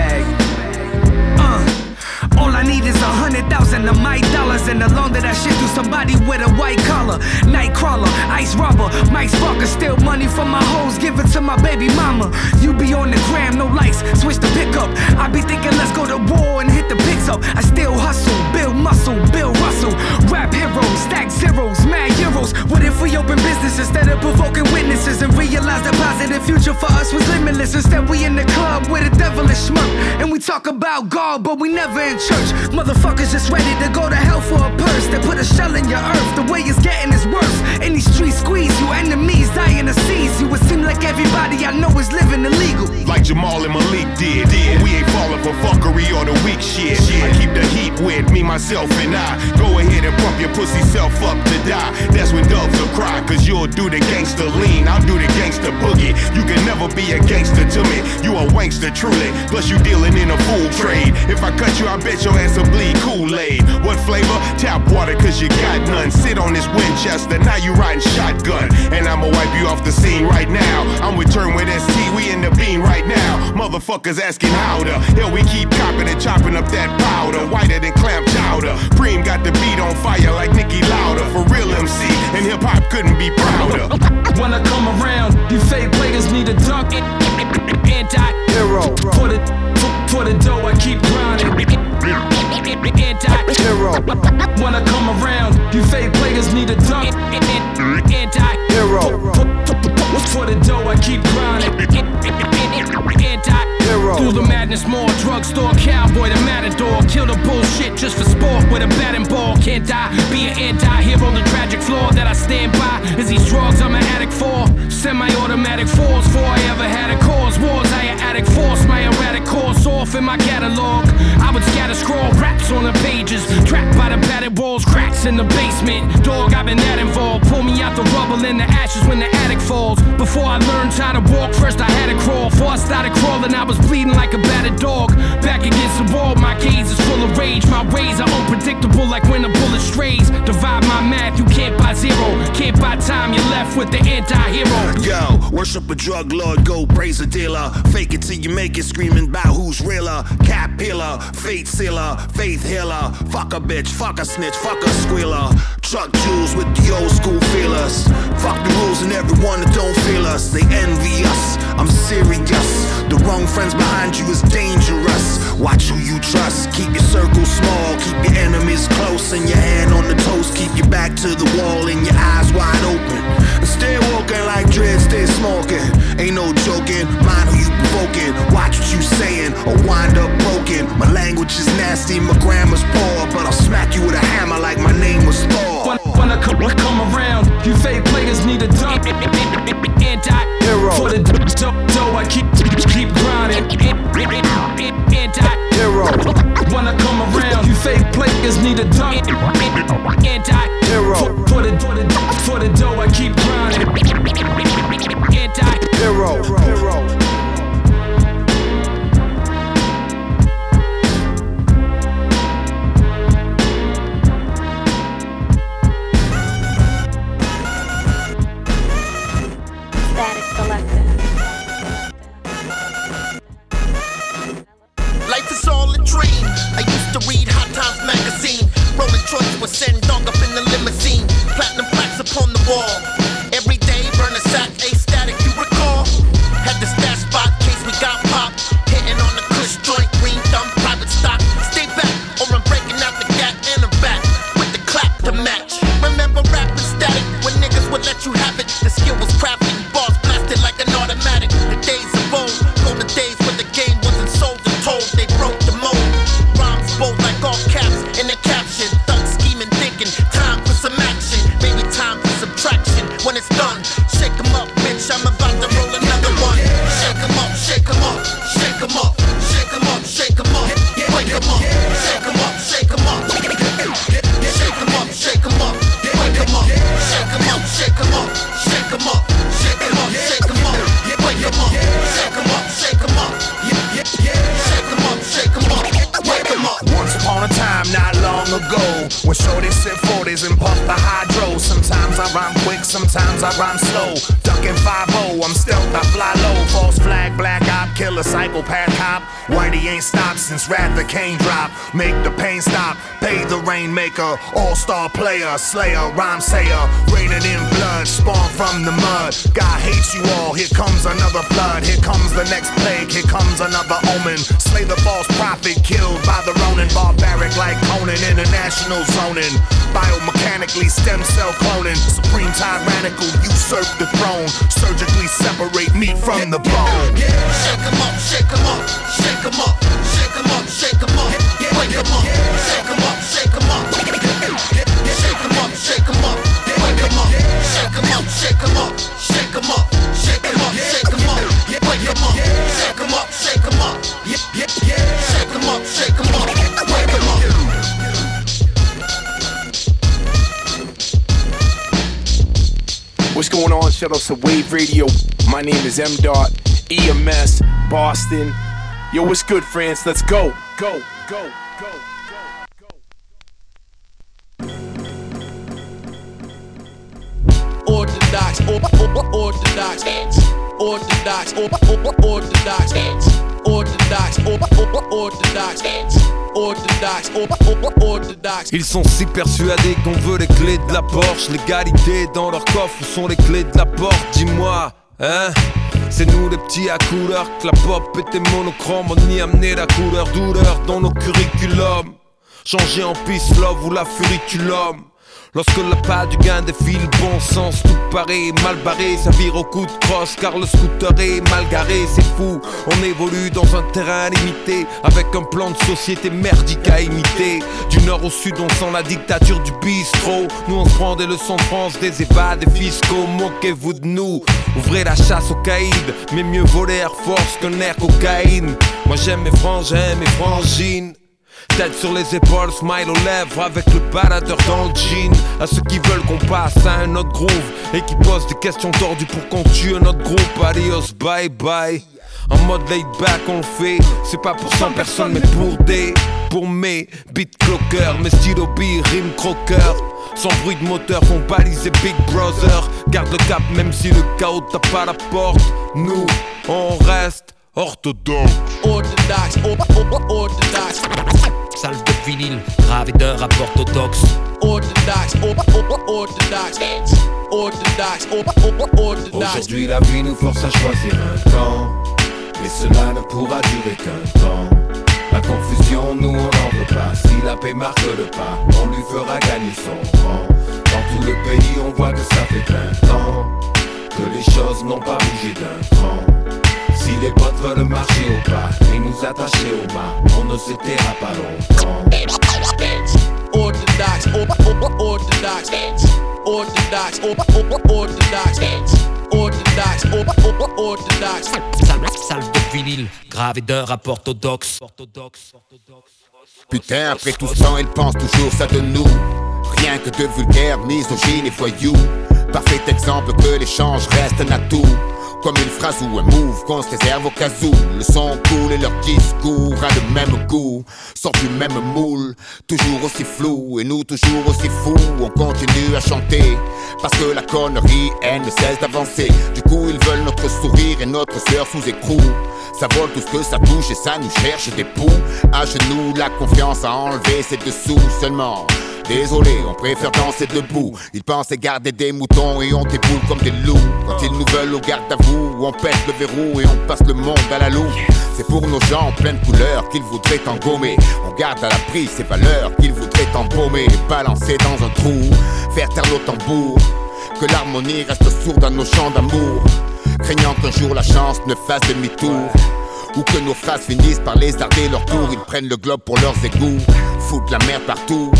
All I need is 100,000 of my dollars, and the longer that shit through somebody with a white collar, night crawler, ice robber, Mike Sparker, steal money from my hoes, give it to my baby mama. You be on the gram, no lights, switch the pickup. I be thinking let's go to war and hit the picks up. I still hustle, build muscle, Bill Russell, rap heroes, stack zeros, mad euros. What if we open business instead of provoking witnesses and realize the positive future for us was limitless? Instead we in the club with a devilish smirk, and we talk about God, but we never in church. Motherfuckers just ready to go to hell for a purse. They put a shell in your earth, the way it's getting is worse. In these streets squeeze you, enemies dying to seize you. It seems like everybody I know is living illegal, like Jamal and Malik did. We ain't falling for fuckery or the weak shit. I keep the heat with me, myself, and I. Go ahead and pump your pussy self up to die. That's when doves will cry, cause you'll do the gangster lean, I'll do the gangster boogie. You can never be a gangster to me, you a wankster truly. Plus you dealing in a fool trade. If I cut you, I bet your ass will bleed Kool-Aid. What flavor? Tap water, cause you got none. Sit on this Winchester, now you riding shotgun. And I'ma wipe you off the scene right now. I'm with Turn with ST, we in the bean right now. Motherfuckers asking how the hell we keep copping and chopping up that powder. Whiter than clam chowder. Preem got the beat on fire like Nicki Lauder. For real MC, and hip-hop couldn't be prouder. When I come around, you fake players need a dunk. Anti-hero. For the dough, I keep grinding. Anti-hero. When I come around, you fake players need a dunk. Anti-hero. For the dough, I keep grinding. Anti-hero. Through the madness, more drugstore cowboy, the matador. Kill the bullshit just for sport with a batting ball. Can't die, be an anti-hero. The tragic flaw that I stand by is these drugs I'm an addict for. Semi-automatic fours, before I ever had a cause. Wars, I an addict force, my erratic course off in my catalog. I would scatter scroll raps on the pages, trapped by the battered walls, cracks ice in the basement. Dog, I've been that involved. Pull me out the rubble and the ashes when the attic falls. Before I learned how to walk, first I had to crawl. Before I started crawling, I was bleeding like a battered dog. Back against the wall, my gaze is full of rage. My ways are unpredictable like when a bullet strays. Divide my math, you can't buy zero. Can't buy time, you're left with the anti-hero. Yo, worship a drug lord, go praise a dealer. Fake it till you make it, screaming about who's realer. Cap pillar, fate sealer, faith healer. Fuck a bitch, fuck a snitch, fuck a squealer. Truck jewels with the old school feelers. Fuck the rules and everyone that don't feel us. They envy us, I'm serious. The wrong friends behind you is dangerous. Watch who you trust, keep your circle small. Keep your enemies close and your hand on the toast. Keep your back to the wall and your eyes wide open. And stay walking like dread, stay smoking. Ain't no joking, mind who you provoking. Watch what you saying or wind up broken. My language is nasty, my grammar's poor, but I'll smack you with a hammer like my name was Thor. When I come around, you fake players need a dump. Anti-hero. For the dough, I keep grinding. Anti-hero. When I come around, you fake players need a dump. Anti-hero. For the dough, I keep grinding. Anti-hero. Life is all a dream. I used to read Hot Times magazine. Rolling joints with send dog up in the limousine. Platinum plaques upon the wall. Every day burn a sack, A-static, you recall. Had the stash spot, case we got popped. Hitting on the kush joint, green thumb, private stock. Stay back, or I'm breaking out the gat and a back. With the clap to match. Remember rapping static, when niggas would let you have it. The skill was crafted, bars blasted like an automatic. The days of old, golden days when the game wasn't sold and told. They broke the mold. Rhymes bold like all caps in the caption. Thug scheming, thinking, time for some action. Maybe time for subtraction. When it's done, shake 'em up, bitch, I'm about to roll another one. Shake 'em up, shake 'em up, shake 'em up, shake 'em up, shake 'em up, wake 'em up, shake 'em up, shake 'em up, shake 'em up, shake 'em up, wake 'em up, shake 'em up, shake 'em up, shake 'em up, shake 'em up, shake 'em up, wake 'em up, shake 'em up, shake 'em up, shake 'em up, shake 'em up, wake 'em up. Once upon a time, not long ago, when shorties sip 40s and puff the hydro. Sometimes I rhyme quick, sometimes I rhyme slow. Ducking 5-0, I'm stealth, I fly low. False flag, black op, killer, psychopath cop. Whitey ain't stopped since Rather Kane drop. Make the pain stop, pay the rainmaker. All-star player, slayer, rhyme sayer. Raining in blood, spawned from the mud. God hates you all, here comes another flood. Here comes the next plague, here comes another omen. Slay the false prophet, killed by the Ronin. Barbaric like Conan, international zoning. Biomechanically stem cell cloning. Supreme tyrannical, usurp the throne. Surgically separate meat from the bone. Shake 'em up, shake 'em up, shake 'em up, shake 'em up, shake 'em up, wake 'em up, shake 'em up, shake 'em up, shake 'em up, shake 'em up, wake 'em up, shake 'em up, shake 'em up, shake 'em up, shake 'em up, shake 'em up, wake 'em up, shake 'em up, shake 'em up, shake 'em up, shake 'em up, wake 'em up. What's going on? Shout out to Wave Radio. My name is M. Dot, EMS, Boston. Yo, what's good, friends? Let's go. Go, go, go. Orthodox, orthodox, orthodox, orthodox, orthodox. Ils sont si persuadés qu'on veut les clés de la Porsche. L'égalité dans leur coffre, où sont les clés de la porte? Dis-moi, hein? C'est nous les petits à couleur, que la pop était monochrome. On y amenait la couleur, douleur dans nos curriculums. Changer en peace love ou la furiculum. Lorsque la pas du gain défile, bon sens, tout paraît mal barré. Ça vire au coup de crosse car le scooter est mal garé. C'est fou, on évolue dans un terrain limité, avec un plan de société merdique à imiter. Du nord au sud on sent la dictature du bistrot. Nous on se prend des leçons de France, des ébats, des fiscaux. Moquez-vous de nous, ouvrez la chasse aux caïds. Mais mieux voler Air Force qu'un air cocaïne. Moi j'aime mes frangins, mes frangines. Tête sur les épaules, smile aux lèvres avec le baladeur dans le jean. À ceux qui veulent qu'on passe à un autre groove et qui posent des questions tordues pour qu'on tue un autre groupe. Adios, bye bye. En mode laid back on le fait. C'est pas pour 100 personnes mais pour mes beat clockers. Mes stylos billes, rime croqueurs. Sans bruit de moteur font baliser Big Brother. Garde le cap même si le chaos tape à la porte. Nous, on reste orthodoxe. Orthodoxe, orthodoxe. Salve de vinyle, gravé de rap orthodoxe. Orthodoxe, orthodoxe. Orthodoxe, orthodoxe. Aujourd'hui la vie nous force à choisir un camp, mais cela ne pourra durer qu'un temps. La confusion, nous on n'en veut pas. Si la paix marque le pas, on lui fera gagner son rang. Dans tout le pays on voit que ça fait 20 ans que les choses n'ont pas bougé d'un cran. Si les potes veulent marcher au pas et nous attacher au mât, on ne se taira pas longtemps. Orthodoxe, orthodoxe. Orthodoxe, orthodoxe. Orthodoxe, Salve de vinyle, gravé de rap orthodoxe. Putain, après tout ce temps, elle pense toujours ça de nous. Rien que de vulgaires, misogynes et voyous. Parfait exemple que l'échange reste un atout. Comme une phrase ou un move qu'on se réserve au cas où. Le son cool et leur discours a le même goût. Sort du même moule, toujours aussi flou. Et nous toujours aussi fous, on continue à chanter. Parce que la connerie, elle ne cesse d'avancer. Du coup ils veulent notre sourire et notre sueur sous écrou. Ça vole tout ce que ça touche et ça nous cherche des poux. À genoux, la confiance à enlever ses dessous seulement. Désolé, on préfère danser debout. Ils pensaient garder des moutons et on déboule comme des loups. Quand ils nous veulent au garde à vous, on pète le verrou et on passe le monde à la loupe. C'est pour nos gens en pleine couleur qu'ils voudraient engommer. On garde à l'abri ces valeurs qu'ils voudraient embaumer et balancer dans un trou, faire taire nos tambours. Que l'harmonie reste sourde à nos chants d'amour, craignant qu'un jour la chance ne fasse demi-tour. Ou que nos phrases finissent par lézarder leur tour. Ils prennent le globe pour leurs égouts, foutent la merde partout.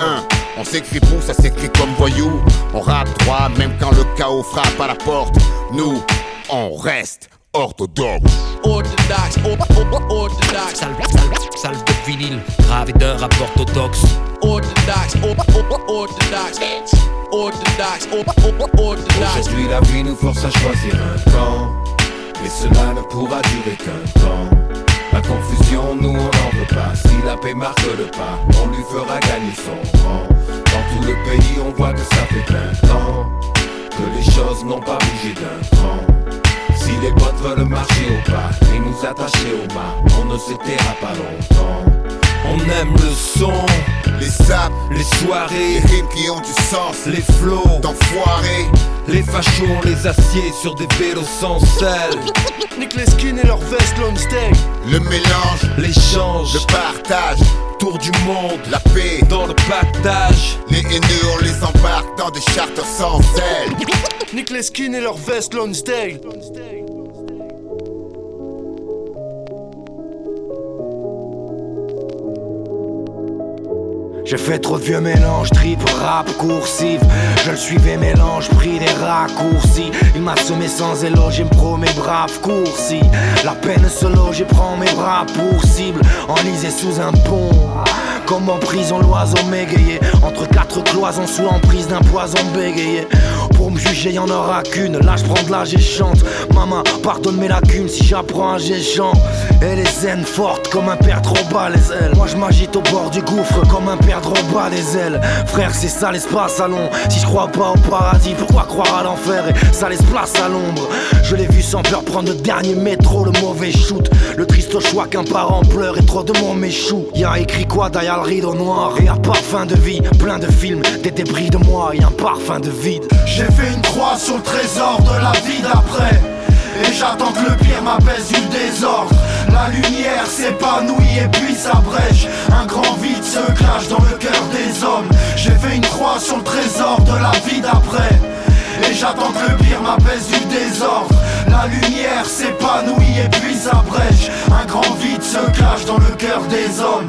On s'écrit pour, ça s'écrit comme voyou. On rappe droit même quand le chaos frappe à la porte. Nous, on reste orthodoxe. Orthodoxe, orthodoxe. Salve de vinyle, gravé de rap orthodoxe. Orthodoxe, orthodoxe. Orthodoxe, orthodoxe. Aujourd'hui la vie nous force à choisir un camp, mais cela ne pourra durer qu'un temps. La confusion, nous on n'en veut pas. Si la paix marque le pas, on lui fera gagner son rang. Dans tout le pays, on voit que ça fait 20 ans que les choses n'ont pas bougé d'un cran. Si les potes veulent marcher au pas et nous attacher au mât, on ne se taira pas longtemps. On aime le son, les saps, les soirées, les rimes qui ont du sens, les flows d'enfoirés. Les fachos, on les assied sur des vélos sans selle. Nique les skins et leurs vestes Lonsdale. Le mélange, l'échange, le partage, tour du monde, la paix dans le pactage. Les haineux, on les embarque dans des charters sans ailes. Nique les skins et leurs vestes Lonsdale. J'ai fait trop de vieux mélanges, trip, rap, coursive. Je le suivais, mélange, pris des raccourcis. Il m'a semé sans éloge, il me promet brave coursi. La peine se loge et prend mes bras pour cible. Enlisé sous un pont, comme en prison, l'oiseau m'égayé. Entre quatre cloisons, sous l'emprise d'un poison bégayé. Pour me juger, y'en aura qu'une. Là, j'prends de l'âge et chante. Maman, pardonne mes lacunes si j'apprends un géchant. Et les zen fortes comme un père trop bas les ailes. Moi, je m'agite au bord du gouffre comme un père trop bas des ailes. Frère, c'est ça l'espace à long. Si je crois pas au paradis, pourquoi croire à l'enfer? Et ça laisse place à l'ombre. Je l'ai vu sans peur prendre le dernier métro, le mauvais shoot. Le triste choix qu'un parent pleure et trop de monde m'échoue. Y'a écrit quoi derrière le rideau noir? Et un parfum de vie, plein de films, des débris de moi et un parfum de vide. J'ai fait une croix sur le trésor de la vie d'après. Et j'attends que le pire m'apaise du désordre. La lumière s'épanouit et puis s'abrège. Un grand vide se clash dans le cœur des hommes. J'ai fait une croix sur le trésor de la vie d'après. Et j'attends que le pire m'apaise du désordre. La lumière s'épanouit et puis s'abrège. Un grand vide se clash dans le cœur des hommes. Qui me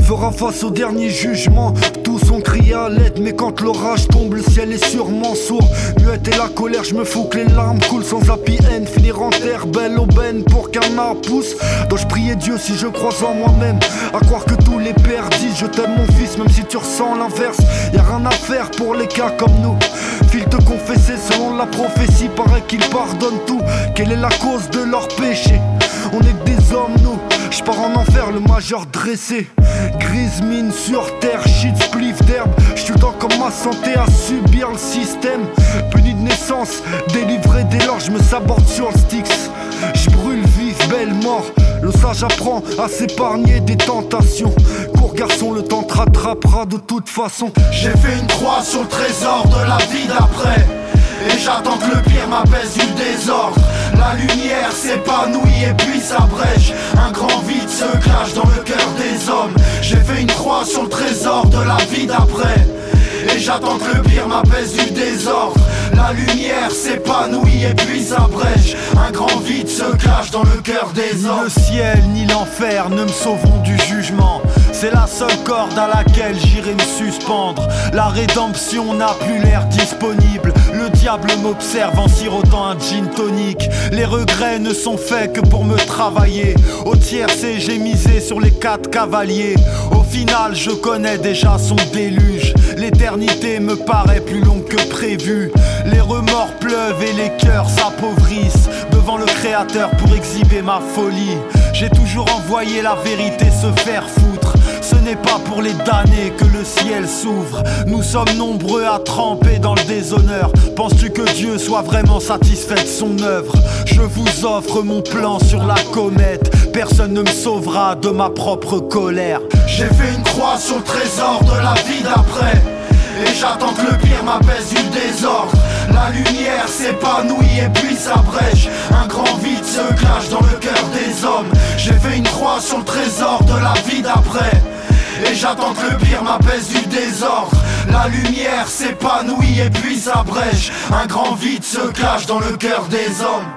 fera face au dernier jugement. Tous ont crié à l'aide, mais quand l'orage tombe, le ciel est sûrement sourd. Muette et la colère, je me fous que les larmes coulent sans happy end. Finir en terre, belle aubaine pour qu'un arbre pousse. Dois-je prier Dieu si je crois en moi-même? À croire que tous les pères disent je t'aime mon fils, même si tu ressens l'inverse. Y'a rien à faire pour les cas comme nous. File te confesser selon la prophétie, paraît qu'ils pardonnent tout. Quelle est la cause de leur péché? On est que des hommes nous. J'pars en enfer, le major dressé. Grise mine sur terre, shit spliff d'herbe. J'suis le temps comme ma santé à subir le système. Puni de naissance, délivré dès lors j'me saborde sur le Styx. J'brûle vif, belle mort. Le sage apprend à s'épargner des tentations. Court garçon, le temps te rattrapera de toute façon. J'ai fait une croix sur le trésor de la vie d'après. Et j'attends que le pire m'apaise du désordre. La lumière s'épanouit et puis s'abrège. Un grand vide se cache dans le cœur des hommes. J'ai fait une croix sur le trésor de la vie d'après. Et j'attends que le pire m'apaise du désordre. La lumière s'épanouit et puis s'abrège. Un grand vide se cache dans le cœur des hommes. Ni le ciel ni l'enfer ne me sauveront du jugement. C'est la seule corde à laquelle j'irai me suspendre. La rédemption n'a plus l'air disponible. Le diable m'observe en sirotant un gin tonic. Les regrets ne sont faits que pour me travailler. Au tiercé j'ai misé sur les 4 cavaliers. Au final je connais déjà son déluge. L'éternité me paraît plus longue que prévu. Les remords pleuvent et les cœurs s'appauvrissent devant le créateur pour exhiber ma folie. J'ai toujours envoyé la vérité se faire foutre. Ce n'est pas pour les damnés que le ciel s'ouvre. Nous sommes nombreux à tremper dans le déshonneur. Penses-tu que Dieu soit vraiment satisfait de son œuvre? Je vous offre mon plan sur la comète. Personne ne me sauvera de ma propre colère. J'ai fait une croix sur le trésor de la vie d'après. Et j'attends que le pire m'apaise du désordre. La lumière s'épanouit et puis s'abrège. Un grand vide se cache dans le cœur des hommes. J'ai fait une croix sur le trésor de la vie d'après. Et j'attends que le pire m'apaise du désordre. La lumière s'épanouit et puis s'abrège. Un grand vide se cache dans le cœur des hommes.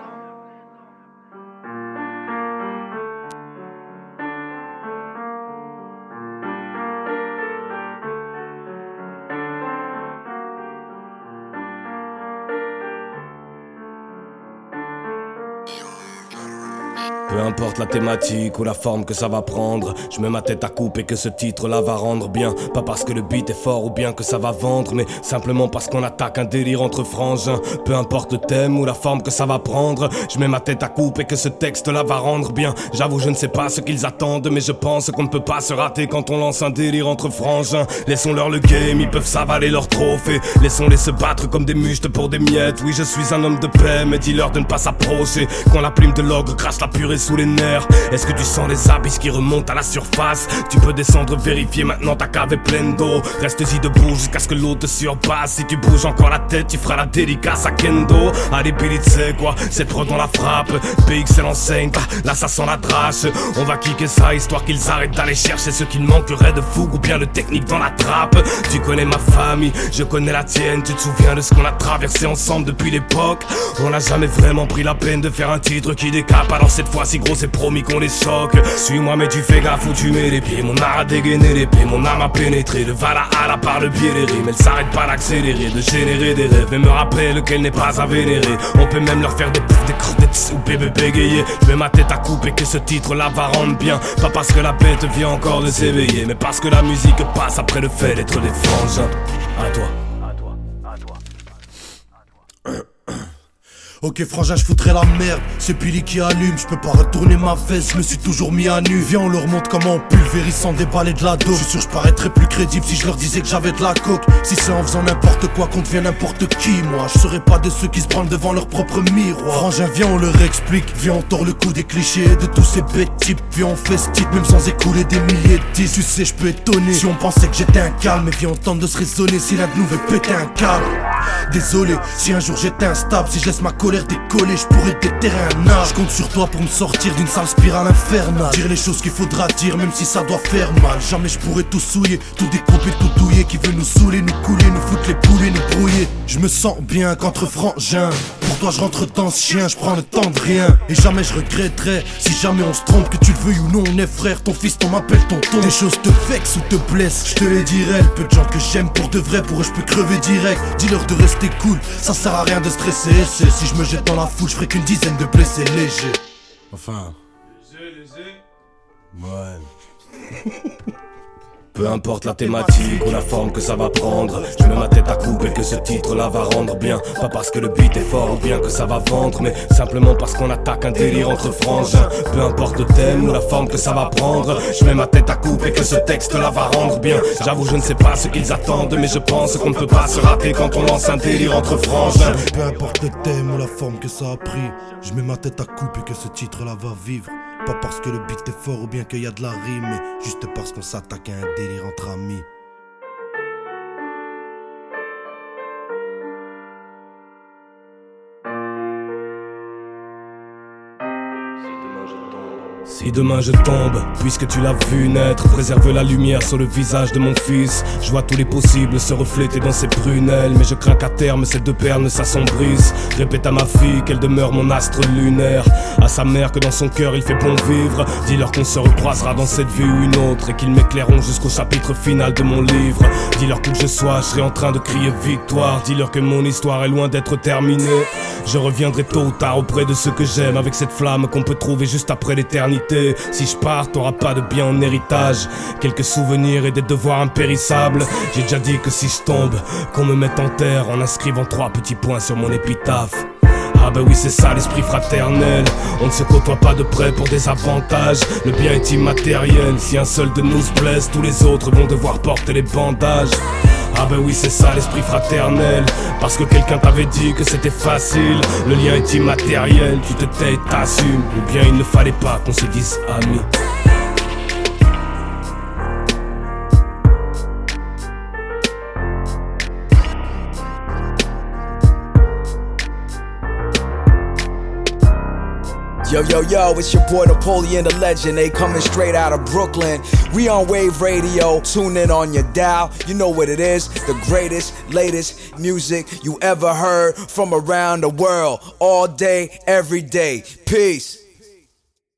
Peu importe la thématique ou la forme que ça va prendre, je mets ma tête à couper que ce titre-là va rendre bien. Pas parce que le beat est fort ou bien que ça va vendre, mais simplement parce qu'on attaque un délire entre frangins. Peu importe le thème ou la forme que ça va prendre, je mets ma tête à couper que ce texte-là va rendre bien. J'avoue, je ne sais pas ce qu'ils attendent, mais je pense qu'on ne peut pas se rater quand on lance un délire entre frangins. Laissons-leur le game, ils peuvent s'avaler leur trophée. Laissons-les se battre comme des mustes pour des miettes. Oui, je suis un homme de paix, mais dis-leur de ne pas s'approcher. Quand la plume de l'ogre crache la purée sous les nerfs. Est-ce que tu sens les abysses qui remontent à la surface? Tu peux descendre, vérifier, maintenant ta cave est pleine d'eau. Reste-y debout jusqu'à ce que l'eau te surpasse. Si tu bouges encore la tête, tu feras la dédicace à Kendo. Allez Billy, tu sais quoi, cette prod on la frappe. PXL enseigne, là ça sent la drache. On va kicker ça histoire qu'ils arrêtent d'aller chercher ce qu'il manquerait de fougue ou bien le technique dans la trappe. Tu connais ma famille, je connais la tienne. Tu te souviens de ce qu'on a traversé ensemble depuis l'époque? On n'a jamais vraiment pris la peine de faire un titre qui décape. Alors cette fois-ci gros c'est promis qu'on les choque. Suis-moi mais tu fais gaffe où tu mets les pieds. Mon art a dégainé l'épée, mon âme a pénétré de Valhalla par le biais des rimes. Elle s'arrête pas d'accélérer, de générer des rêves et me rappelle qu'elle n'est pas à vénérer. On peut même leur faire des poufs, des creux, des tss ou bébé bégayer. Je mets ma tête à couper que ce titre-là va rendre bien. Pas parce que la bête vient encore de s'éveiller, mais parce que la musique passe après le fait d'être des frangins. À toi. Ok frangin, je foutrais la merde, c'est Billy qui allume, je peux pas retourner ma veste, je me suis toujours mis à nu. Viens on leur montre comment on pulvérise sans déballer de la dope. Je suis sûr je paraîtrais plus crédible si je leur disais que j'avais de la coke. Si c'est en faisant n'importe quoi qu'on devient n'importe qui, moi je serais pas de ceux qui se branlent devant leur propre miroir. Frangin viens on leur explique, viens on tord le coup des clichés de tous ces bêtes types. Viens on fait ce type même sans écouler des milliers de disques. Tu sais je peux étonner si on pensait que j'étais un calme, mais viens on tente de se raisonner si l'un de nous veut péter un câble. Désolé si un jour j'étais instable, si je laisse ma colère décoller, je pourrais déterrer un arbre. Je compte sur toi pour me sortir d'une sale spirale infernale. Dire les choses qu'il faudra dire même si ça doit faire mal. Jamais je pourrais tout souiller, tout découper, tout douiller. Qui veut nous saouler, nous couler, nous foutre les poulets, nous brouiller. Je me sens bien qu'entre frangins. Pour toi je rentre dans ce chien, je prends le temps de rien. Et jamais je regretterai, si jamais on se trompe, que tu le veuilles ou non, on est frère. Ton fils, on m'appelle tonton. Des choses te vexent ou te blessent, je te les dirai. Le peu de gens que j'aime pour de vrai, pour eux je peux crever direct. Dis-leur de rester cool, ça sert à rien de stresser. Si je me jette dans la foule, je ferai qu'une dizaine de blessés légers. Enfin. Ouais. Peu importe la thématique ou la forme que ça va prendre, je mets ma tête à couper que ce titre-là va rendre bien. Pas parce que le beat est fort ou bien que ça va vendre, mais simplement parce qu'on attaque un délire entre frangins. Peu importe le thème ou la forme que ça va prendre, je mets ma tête à couper que ce texte-là va rendre bien. J'avoue je ne sais pas ce qu'ils attendent, mais je pense qu'on ne peut pas se rater quand on lance un délire entre frangins. Peu importe le thème ou la forme que ça a pris, je mets ma tête à couper que ce titre-là va vivre. Pas parce que le beat est fort ou bien qu'il y a de la rime, mais juste parce qu'on s'attaque à un délire entre amis. Si demain je tombe, puisque tu l'as vu naître, préserve la lumière sur le visage de mon fils. Je vois tous les possibles se refléter dans ses prunelles, mais je crains qu'à terme ces deux perles ne s'assombrissent. Répète à ma fille qu'elle demeure mon astre lunaire, à sa mère que dans son cœur il fait bon vivre. Dis-leur qu'on se recroisera dans cette vie ou une autre, et qu'ils m'éclaireront jusqu'au chapitre final de mon livre. Dis-leur où que je sois, je serai en train de crier victoire. Dis-leur que mon histoire est loin d'être terminée. Je reviendrai tôt ou tard auprès de ceux que j'aime, avec cette flamme qu'on peut trouver juste après l'éternité. Si je pars, t'auras pas de bien en héritage, quelques souvenirs et des devoirs impérissables. J'ai déjà dit que si je tombe, qu'on me mette en terre en inscrivant 3 petits points sur mon épitaphe. Ah ben oui c'est ça l'esprit fraternel, on ne se côtoie pas de près pour des avantages. Le bien est immatériel, si un seul de nous se blesse, tous les autres vont devoir porter les bandages. Ah ben oui c'est ça l'esprit fraternel, parce que quelqu'un t'avait dit que c'était facile. Le lien est immatériel, tu te tais et t'assumes, ou bien il ne fallait pas qu'on se dise amis. Yo, yo, yo, it's your boy Napoleon the Legend, they coming straight out of Brooklyn. We on Wave Radio, tune in on your dial, you know what it is, the greatest, latest music you ever heard from around the world, all day, every day. Peace.